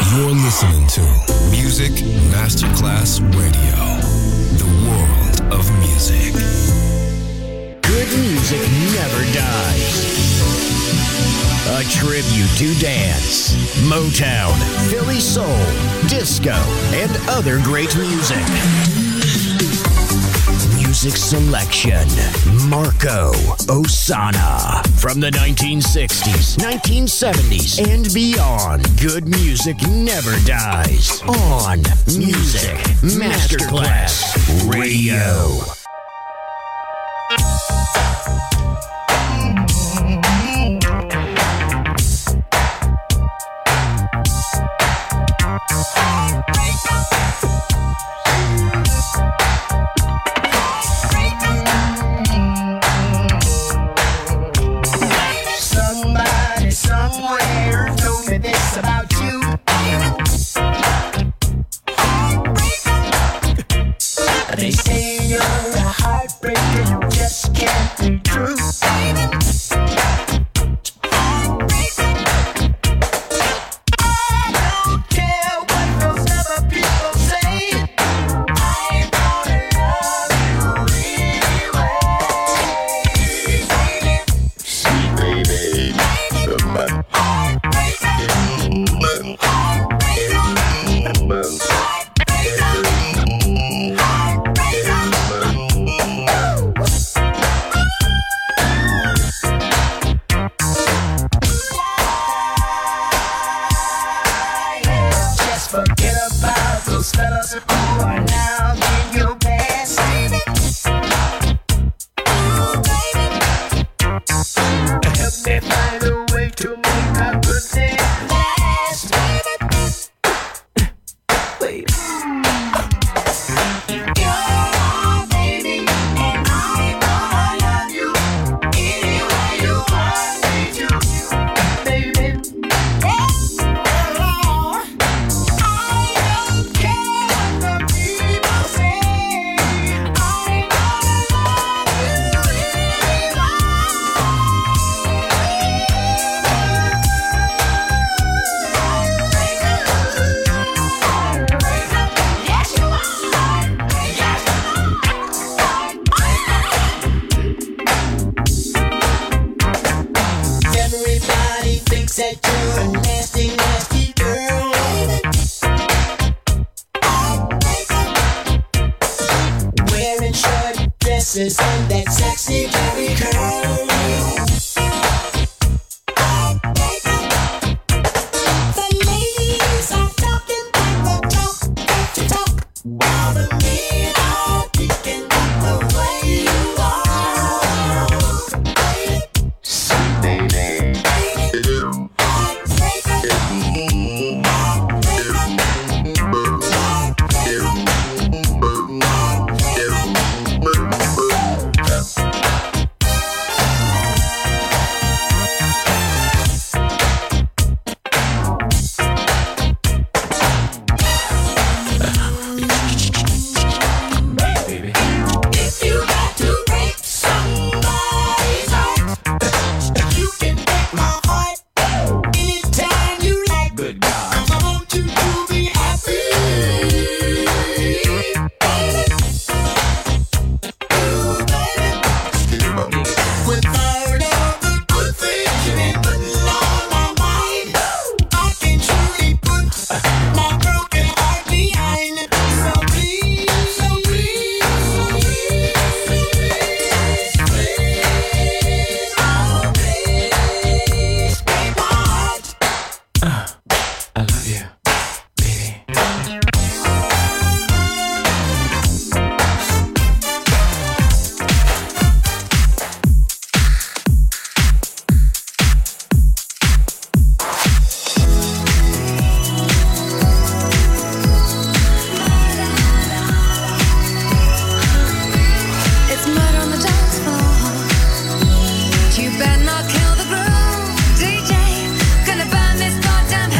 You're listening to Music Masterclass Radio, the world of music. Good music never dies. A tribute to dance, Motown, Philly soul, disco, and other great music. Music selection, Marco Ossanna. From the 1960s, 1970s, and beyond, good music never dies. On Music Masterclass Radio. They say you're a heartbreaker, you just can't be true. I don't care what those other people say. I'm gonna love you anyway. Sweet baby, my fellas who are now in your past. Help me find a way to make our good day last. Wait. You're my baby, and I'm gonna love you any way you want me to, baby. That you're a nasty, nasty girl. Wearing short dresses and that sexy Jerry curl. The ladies are talking like the talk, while the men are peeking at the way you are. Sweet baby. You better not kill the groove, DJ. Gonna burn this goddamn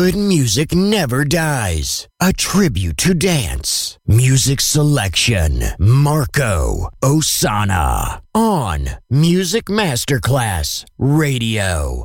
Good music never dies. A tribute to dance. Music selection. Marco Ossanna. On Music Masterclass Radio.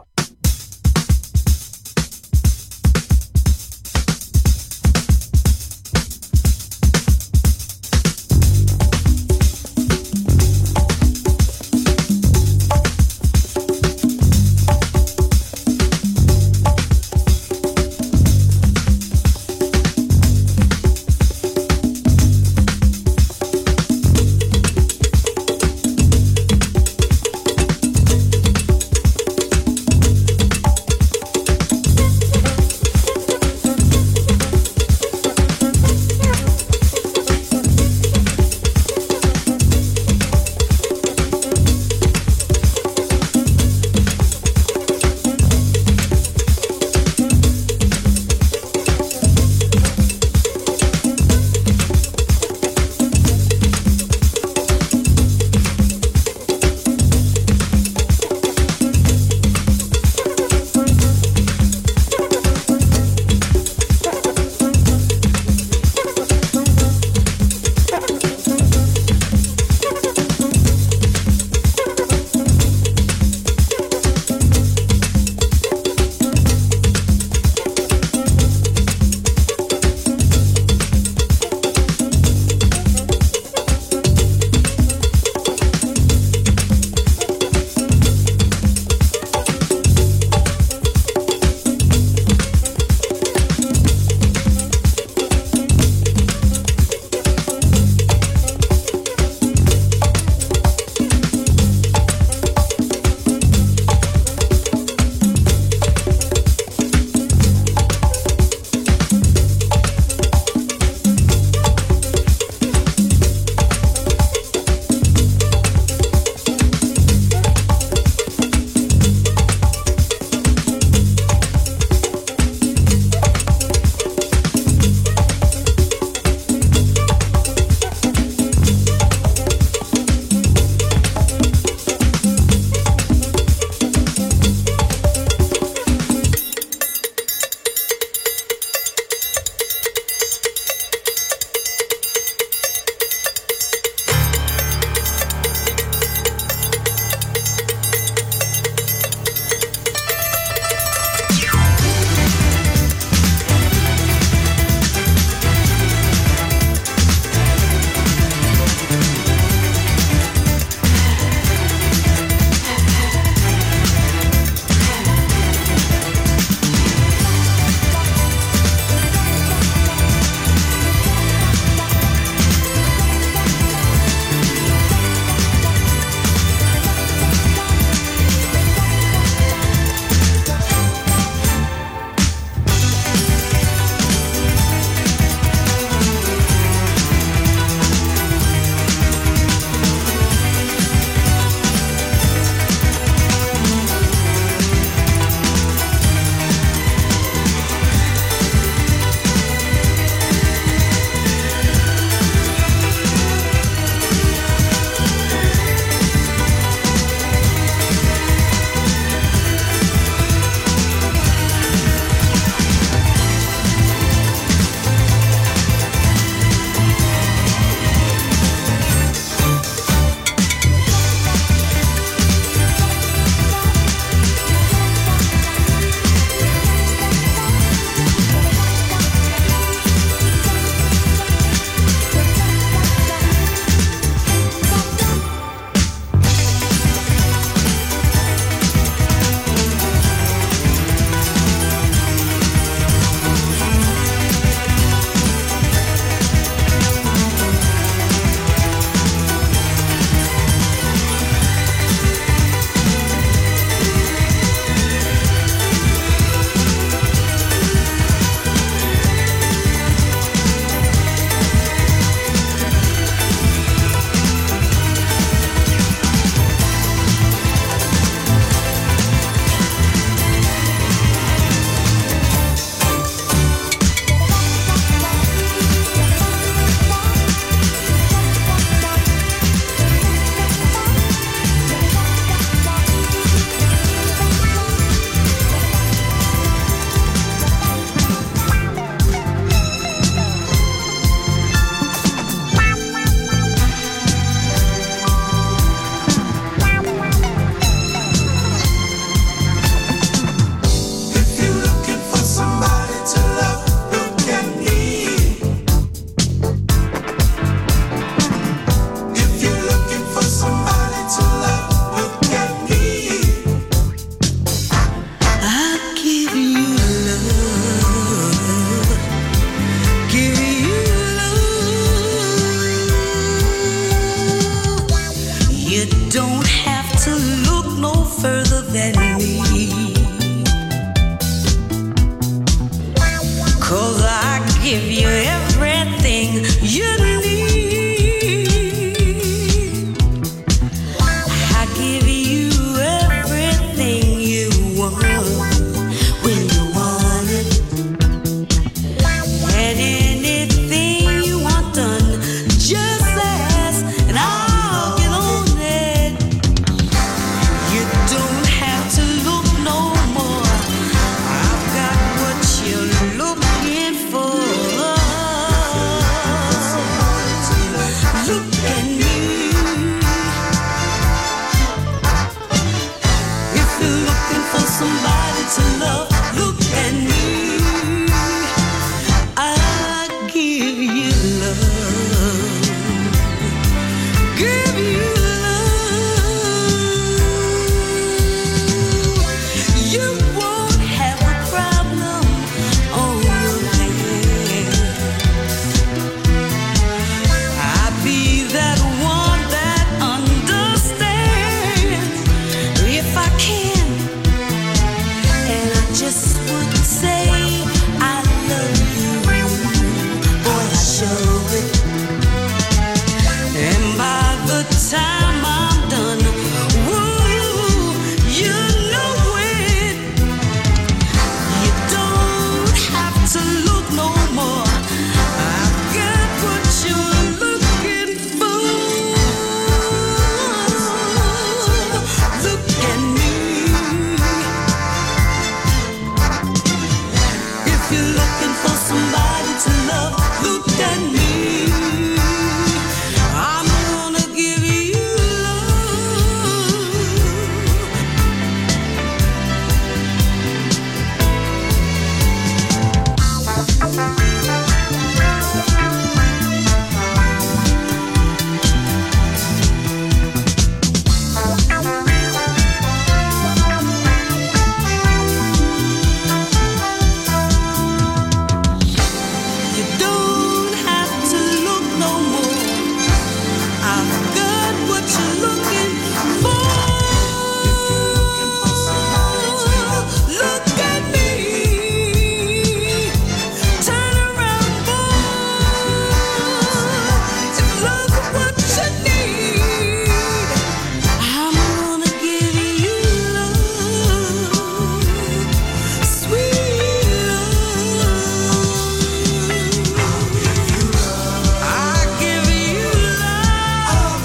everything you need. I give you everything you want when you want it, and anything you want done, just ask and I'll get on it. You don't have to look no more. I've got what you're looking for. Look at me. If you're looking for somebody to love, look at me. I'll give you love. Give you love. You won't have a problem on your hands. I'll be that one that understands if I can. And I just would say I love you. Boy, I show it. And by the time I'm done, woo, you know it. You don't have to look no more. I've got what you're looking for. Look at me. If you're looking for somebody to love, look at me. I'm gonna give you You don't have to look no more. I've got what you're looking for. Look at me. Turn around, boy. If love is what you need, I'm gonna give you love, sweet love. I'll give you love.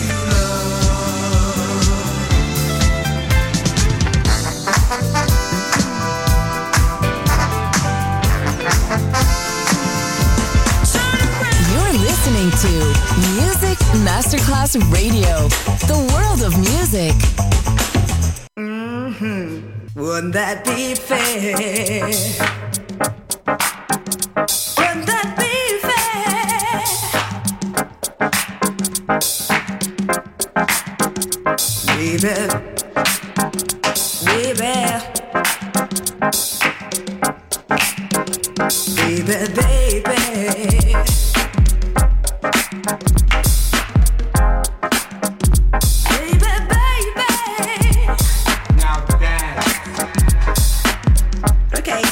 You're listening to Music Masterclass Radio, the world of music. Wouldn't that be fair? Wouldn't that be fair? Baby, baby, baby, baby. Baby, baby. Now dance. Okay.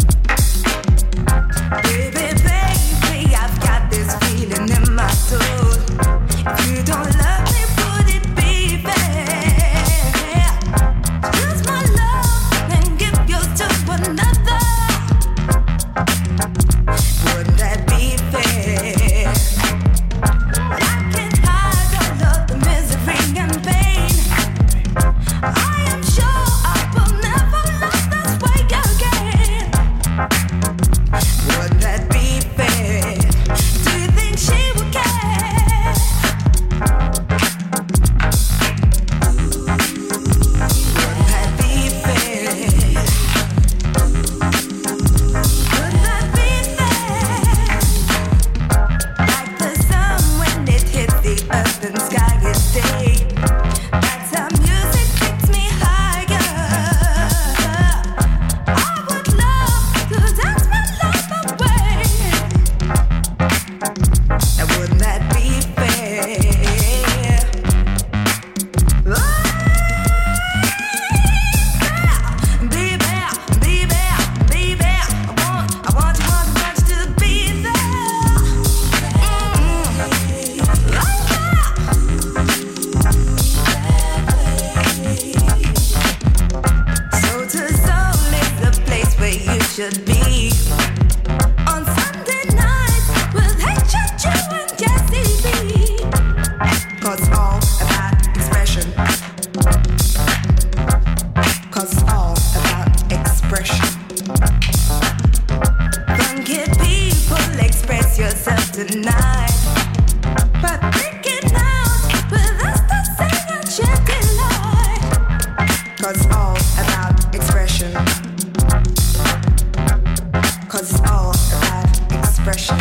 Baby, baby, I've got this feeling in my soul. If you don't love me, would it be fair? Use my love and give yours to another. Would that be fair? tonight. But thinking out with us the same enchanting light. 'Cause it's all about expression. 'Cause it's all about expression.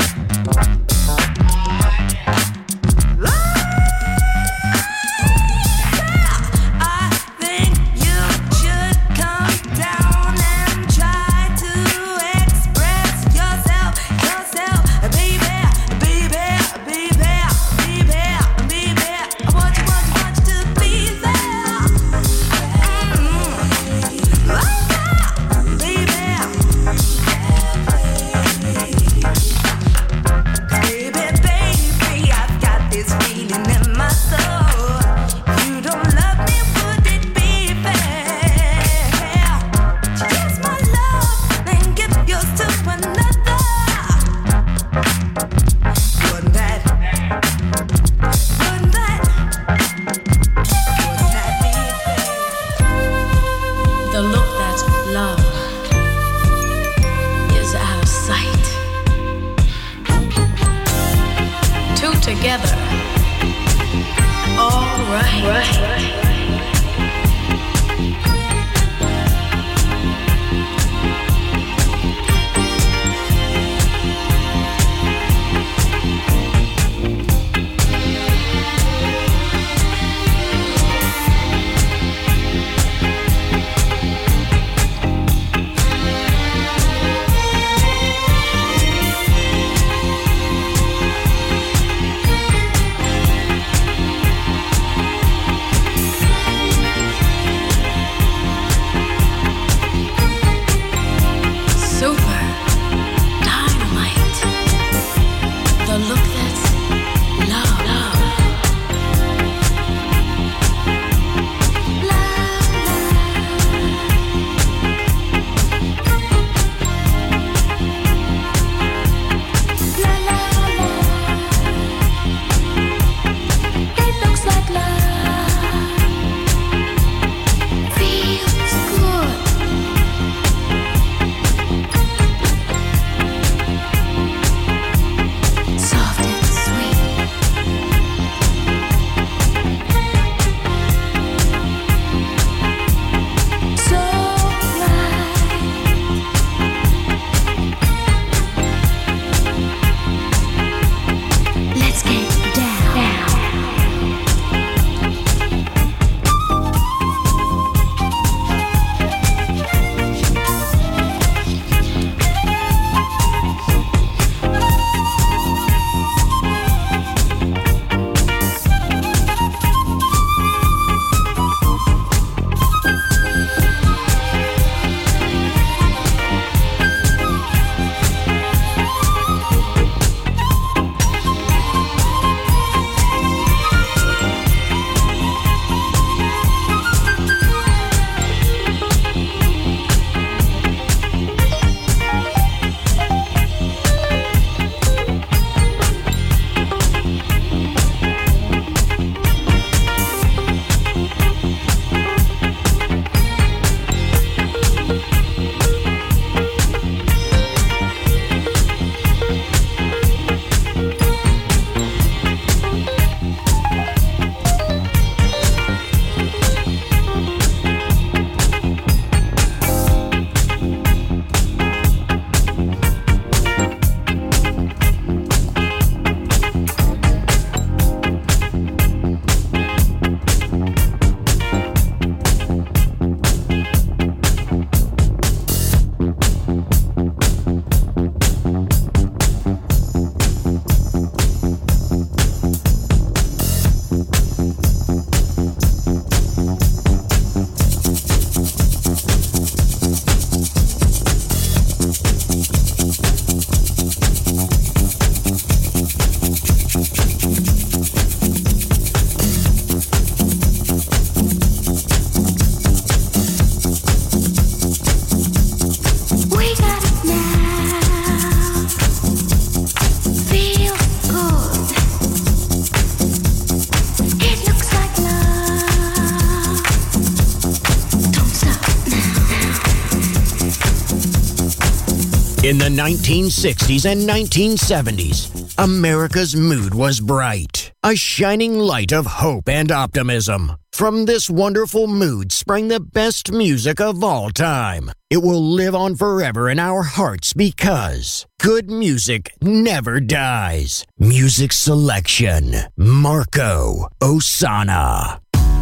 In the 1960s and 1970s, America's mood was bright, a shining light of hope and optimism. From this wonderful mood sprang the best music of all time. It will live on forever in our hearts because good music never dies. Music selection, Marco Ossanna.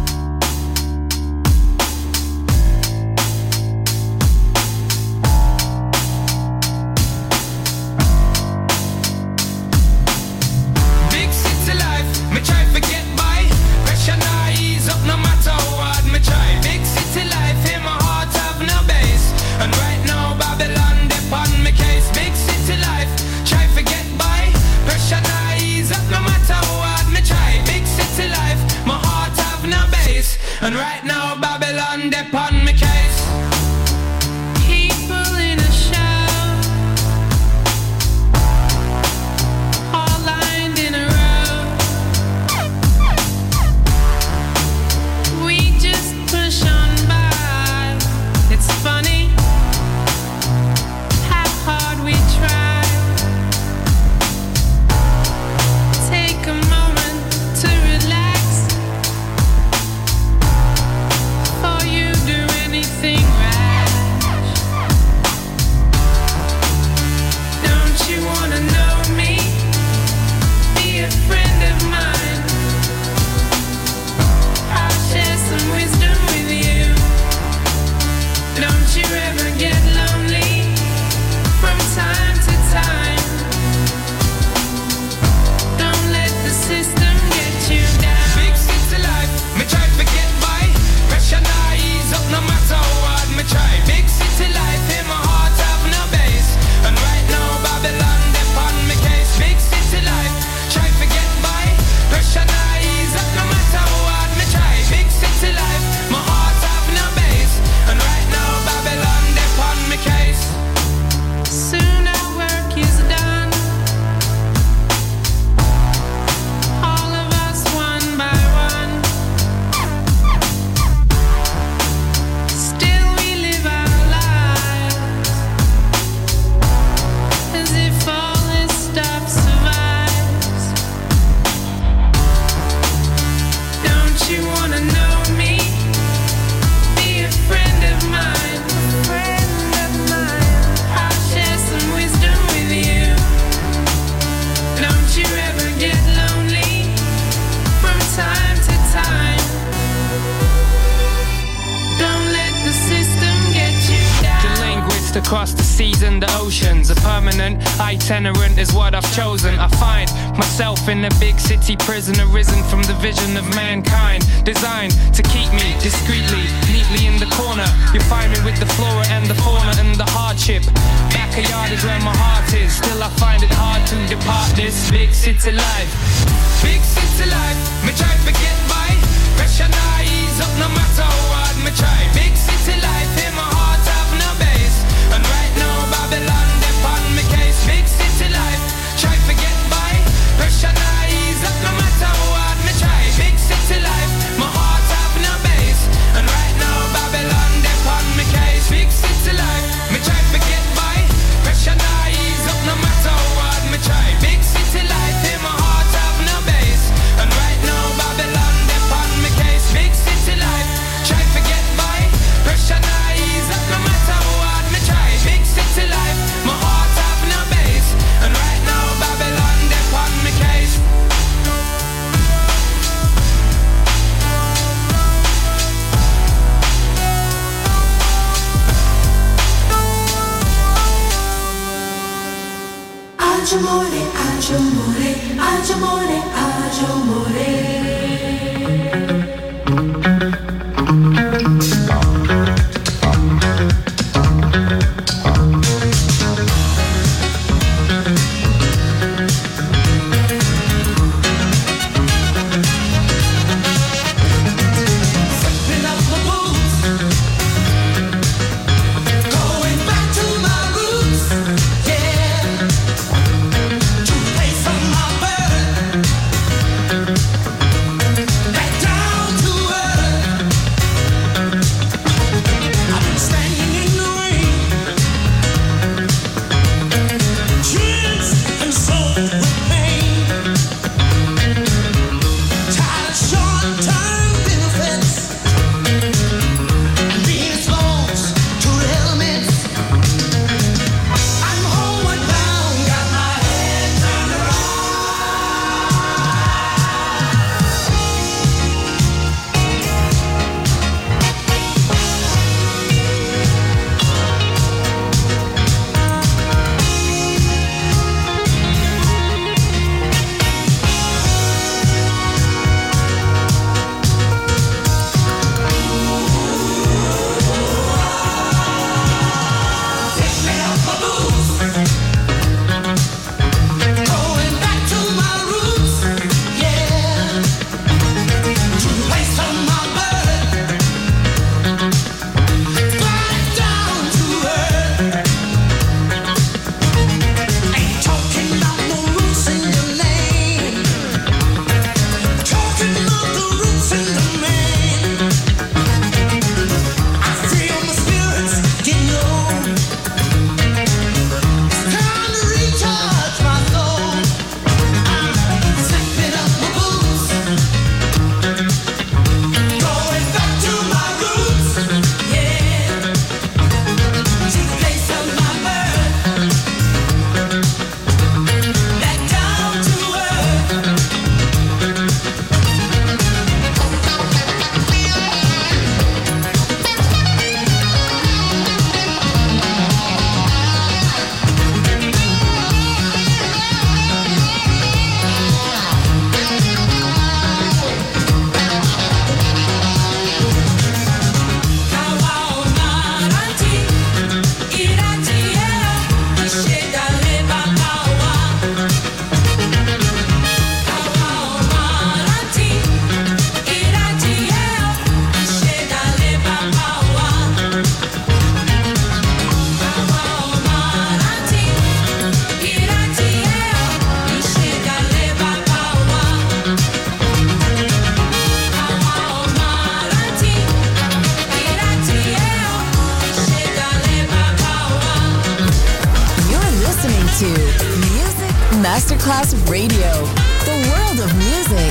And right now Babylon depon me case. People in a show, all lined in a row. We just push on by. It's funny how hard we try. Take a moment to relax. Across the seas and the oceans, a permanent itinerant is what I've chosen. I find myself in a big city prison, arisen from the vision of mankind, designed to keep me discreetly, neatly in the corner. You find me with the flora and the fauna and the hardship. Backyard is where my heart is. Still I find it hard to depart this big city life. Big city life, me try to get by. Pressure now ease up no matter what me try. Big city life, in my heart have no base. And right now Babylon depon me case. Big city life, try to get by. Pressure now ease up no matter what me try. Big city life, my heart have no base. And right now Babylon depon me case. Big city life, me try to get by. Pressure now ease up no matter what me try. Big city life, in my heart have no base. And right now Babylon depon me case. Big city life, try to get by. Pressure now ease up no matter what me try. Big city life, my heart have no base. And right now Babylon depon me case. Agio amore, agio amore, agio amore, agio amore. Masterclass Radio, the world of music.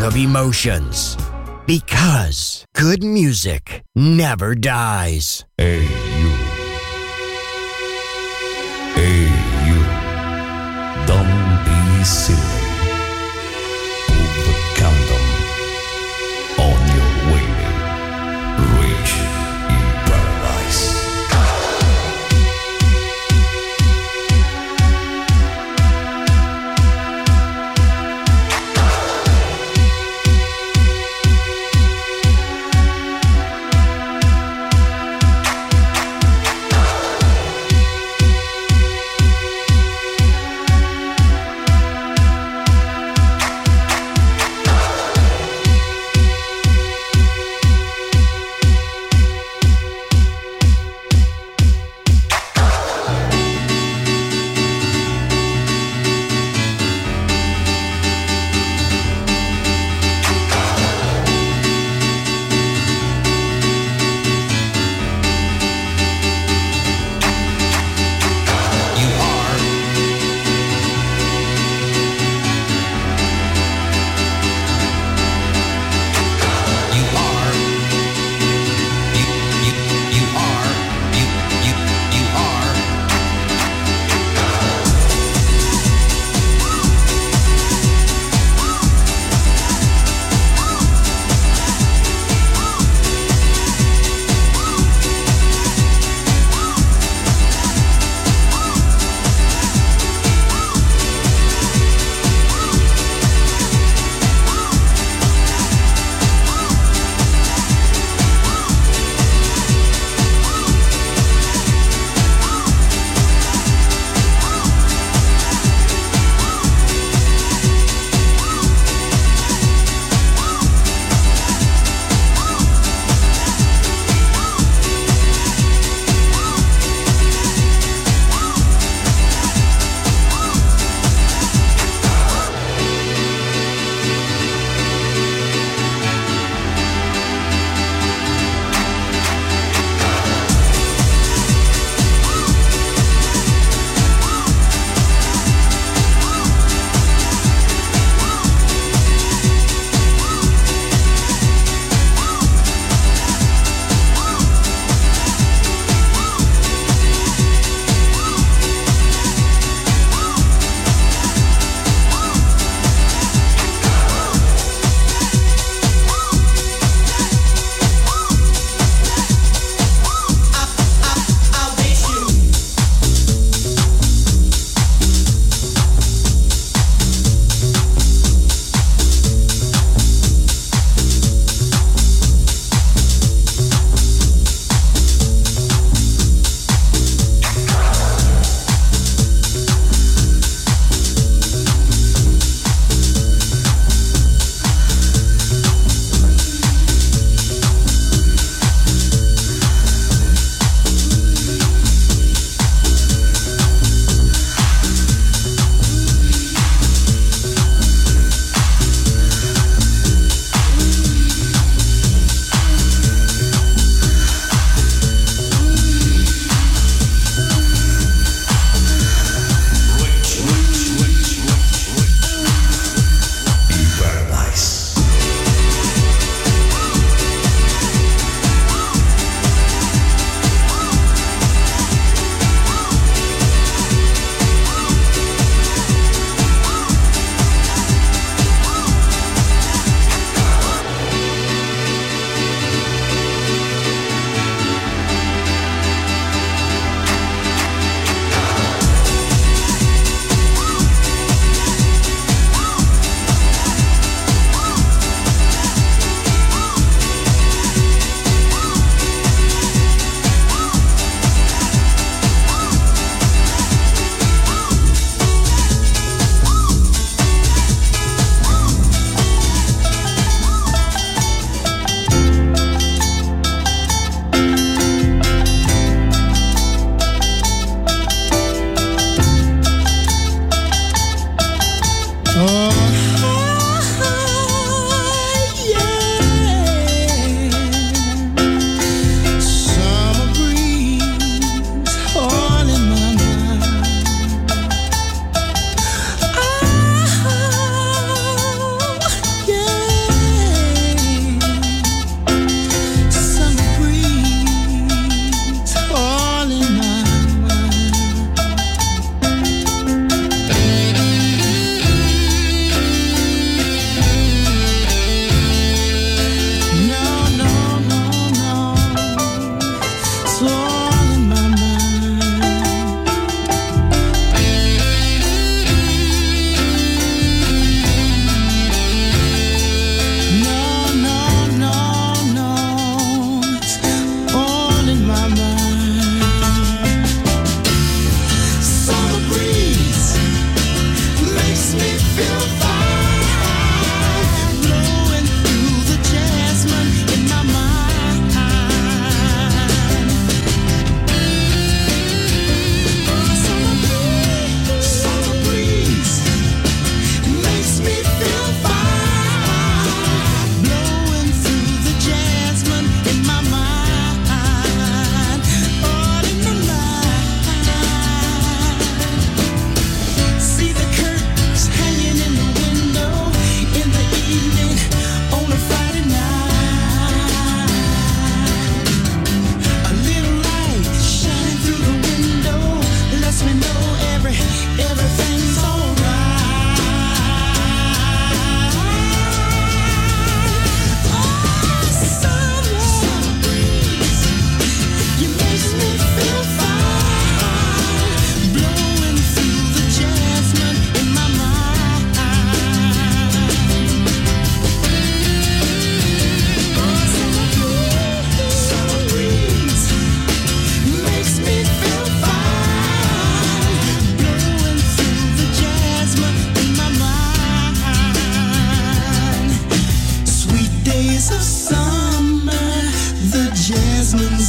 of emotions. Because good music never dies. Hey you. Hey you. Don't be silly. Put the condom on your way. Rich in paradise.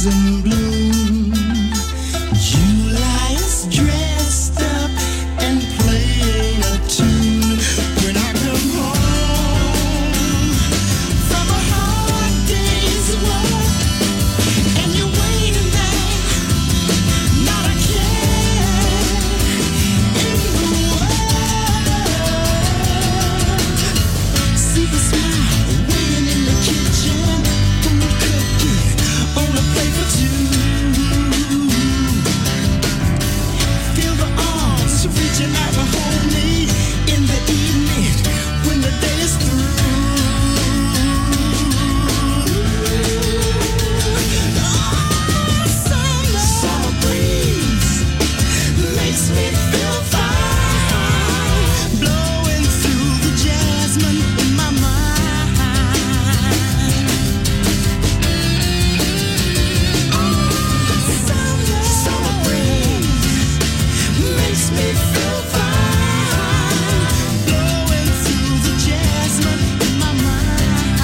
in bloom. July is dressed up and playing a tune. When I come home from a hard day's work and you're waiting there, not a care in the world. See the smile waiting in the kitchen, food cooking on a plate for two. Feel the arms reaching out to hold me in the evening when the day is through. Summer breeze makes me feel fine, blowing through the jasmine in my mind. Summer breeze makes me feel fine, blowing through the jasmine in my mind.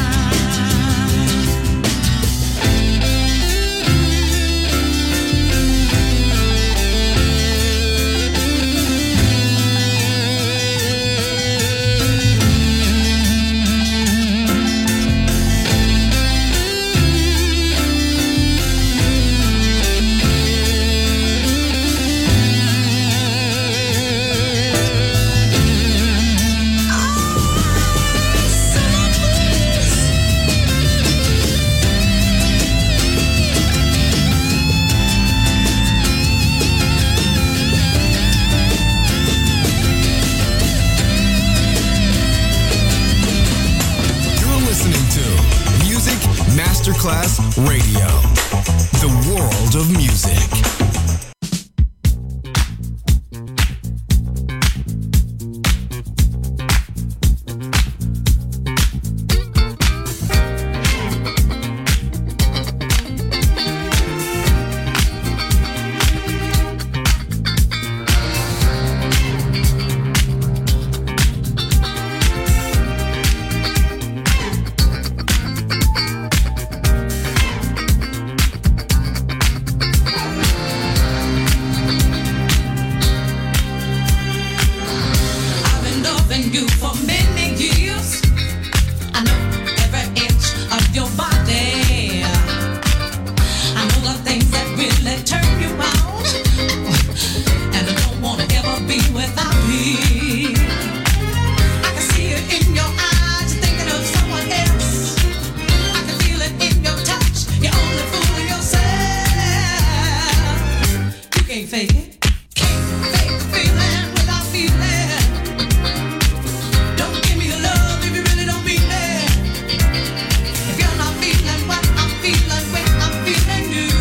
You're listening to Music Masterclass Radio, the world of music. I've been loving you for many years. I know every inch of your body. I know the things that really turn you on, and I don't wanna ever be without you. I can see it in your eyes, you're thinking of someone else. I can feel it in your touch, you're only fooling yourself. You can't fake it. Can't fake the feeling without feeling. Don't give me your love if you really don't mean it. If you're not feeling what I'm feeling when I'm feeling you,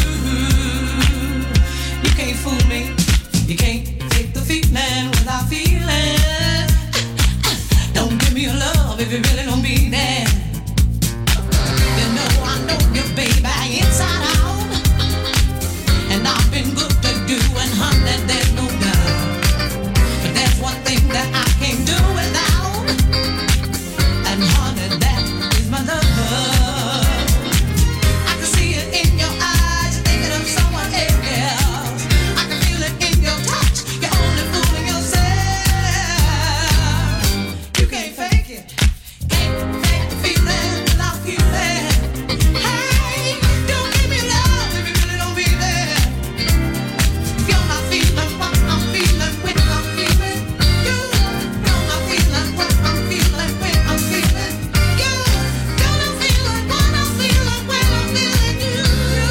you can't fool me. You can't fake the feeling without feeling. Don't give me your love if you really don't mean it. You know I know you, baby, inside out. And I've been good to you, and honey, there's no doubt. But there's one thing that I can't do without, and honey, that is my love. I can see it in your eyes, you're thinking of someone else. I can feel it in your touch, you're only fooling yourself. You can't fake it. Can't fake the feeling without feeling. Hey, don't give me love if you really don't mean it. If you're not feeling what I'm feeling when I'm feeling you, you're not feeling what I'm feeling when I'm feeling you. You're not feeling what I'm feeling when I'm feeling you.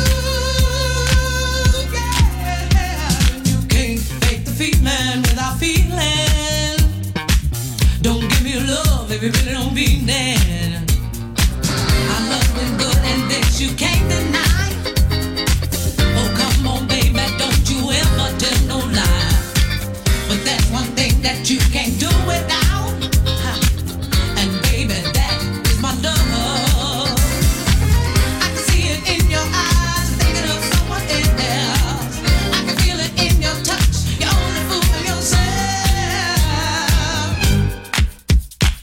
Yeah, you can't fake the feeling without feeling. Don't give me your love if you really don't mean it. I love you good and this you can't deny. Oh, come on, baby, don't you ever tell no lie. But that's one thing that you can't do without. And baby, that is my love. I can see it in your eyes, thinking of someone else. I can feel it in your touch, you're only fooling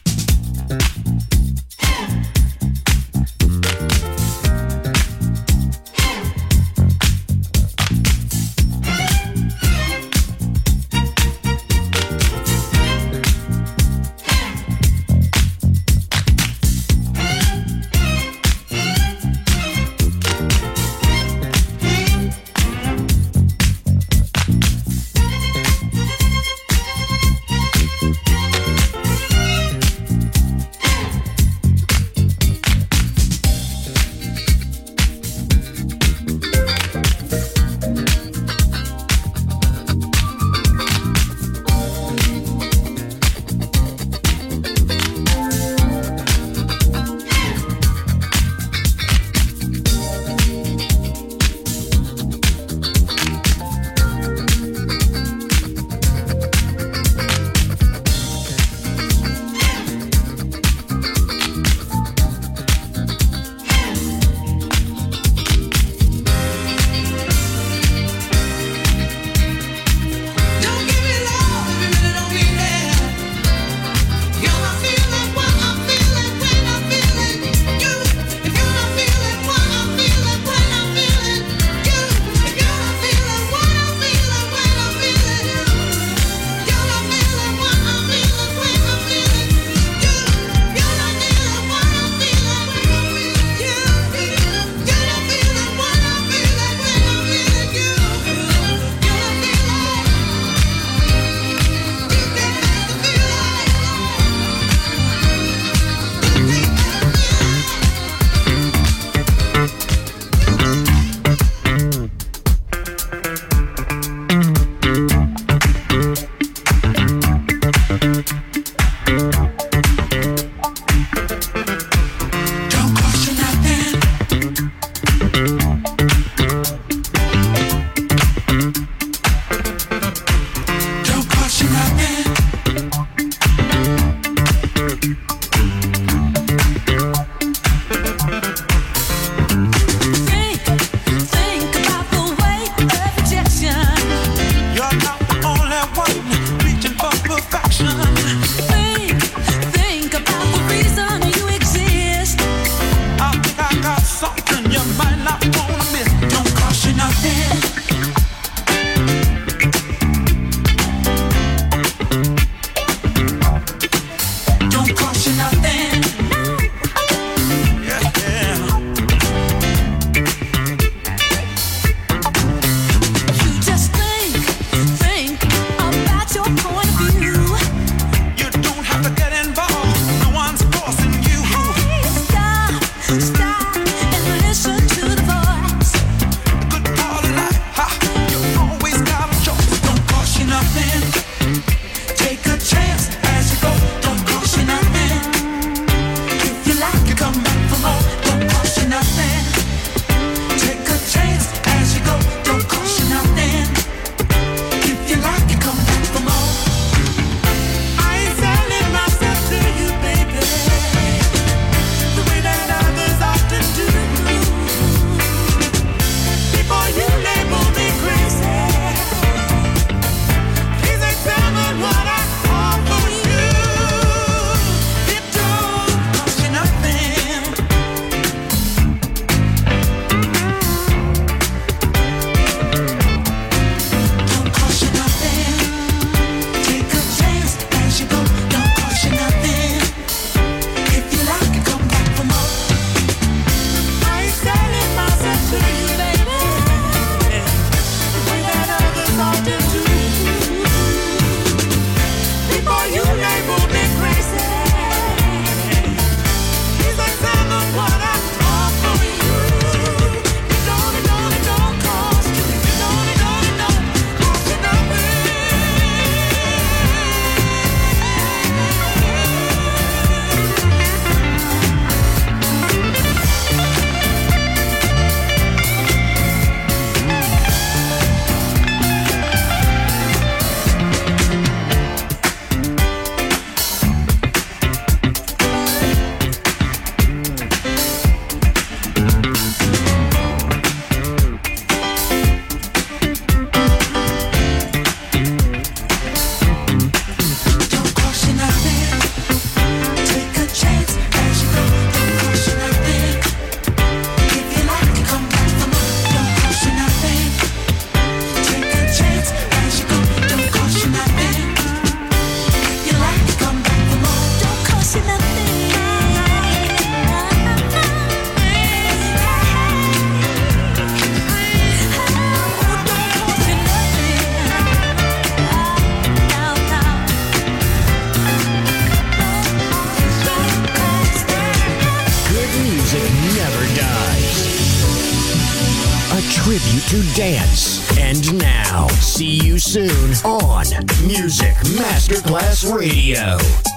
yourself. tribute to dance. And now, see you soon on Music Masterclass Radio.